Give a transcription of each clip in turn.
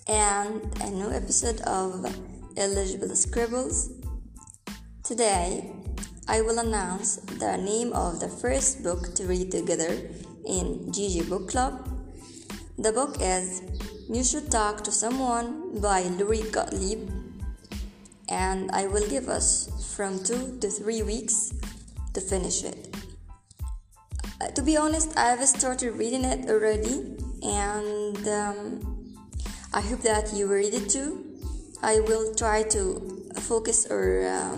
and a new episode of Illegible Scribbles. Today, I will announce the name of the first book to read together in Gigi Book Club. The book is You Should Talk to Someone by Lori Gottlieb, and I will give us from 2 to 3 weeks to finish it. To be honest, I have started reading it already, and I hope that you read it too. I will try to focus or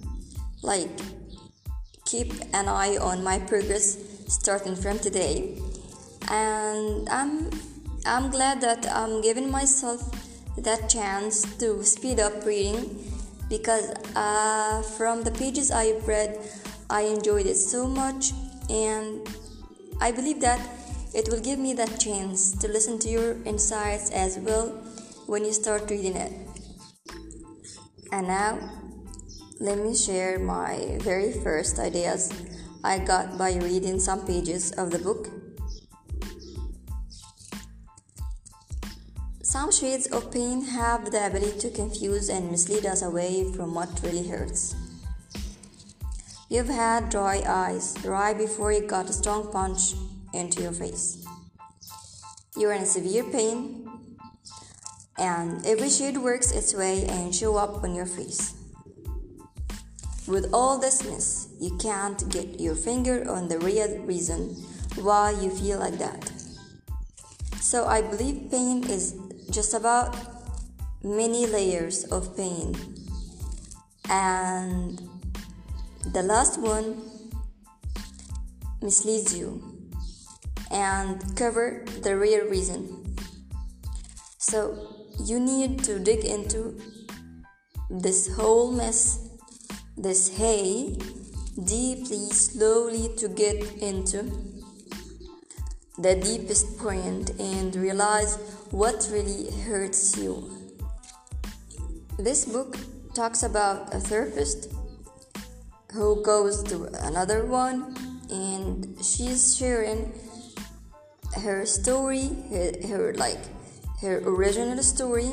keep an eye on my progress starting from today, and I'm glad that I'm giving myself that chance to speed up reading because from the pages I've read, I enjoyed it so much, and I believe that it will give me that chance to listen to your insights as well when you start reading it. And now, let me share my very first ideas I got by reading some pages of the book. Some shades of pain have the ability to confuse and mislead us away from what really hurts. You've had dry eyes right before you got a strong punch into your face. You're in severe pain, and every shade works its way and show up on your face. With all this mess, you can't get your finger on the real reason why you feel like that. So I believe pain is just about many layers of pain, and the last one misleads you and cover the real reason. So you need to dig into this whole mess, this hay, deeply, slowly to get into the deepest point and realize what really hurts you. This book talks about a therapist who goes to another one, and she's sharing her story, her original story,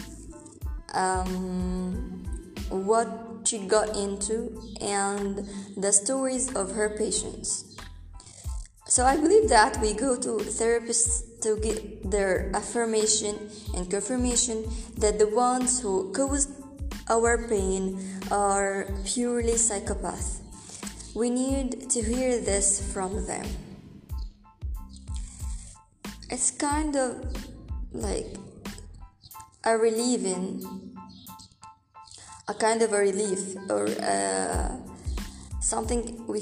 what she got into, and the stories of her patients. So I believe that we go to therapists to get their affirmation and confirmation that the ones who caused our pain are purely psychopaths. We need to hear this from them. It's kind of like a relief, or something we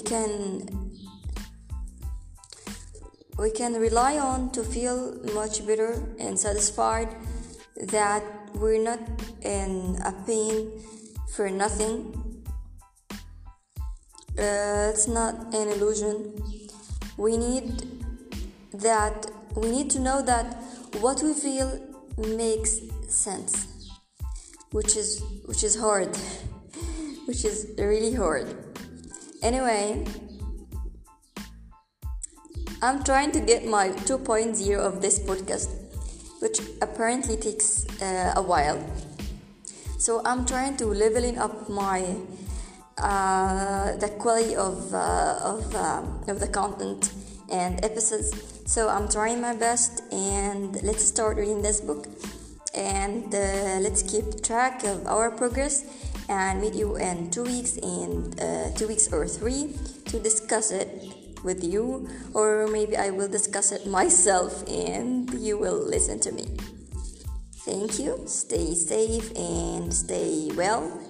can rely on to feel much better and satisfied that we're not in a pain for nothing. It's not an illusion. We need to know that what we feel makes sense, which is hard, which is really hard. Anyway, I'm trying to get my 2.0 of this podcast, which apparently takes a while. So I'm trying to leveling up my the quality of the content and episodes. So I'm trying my best, and let's start reading this book, and let's keep track of our progress and meet you in 2 weeks and 2 weeks or 3 to discuss it with you, or maybe I will discuss it myself and you will listen to me. Thank you. Stay safe and stay well.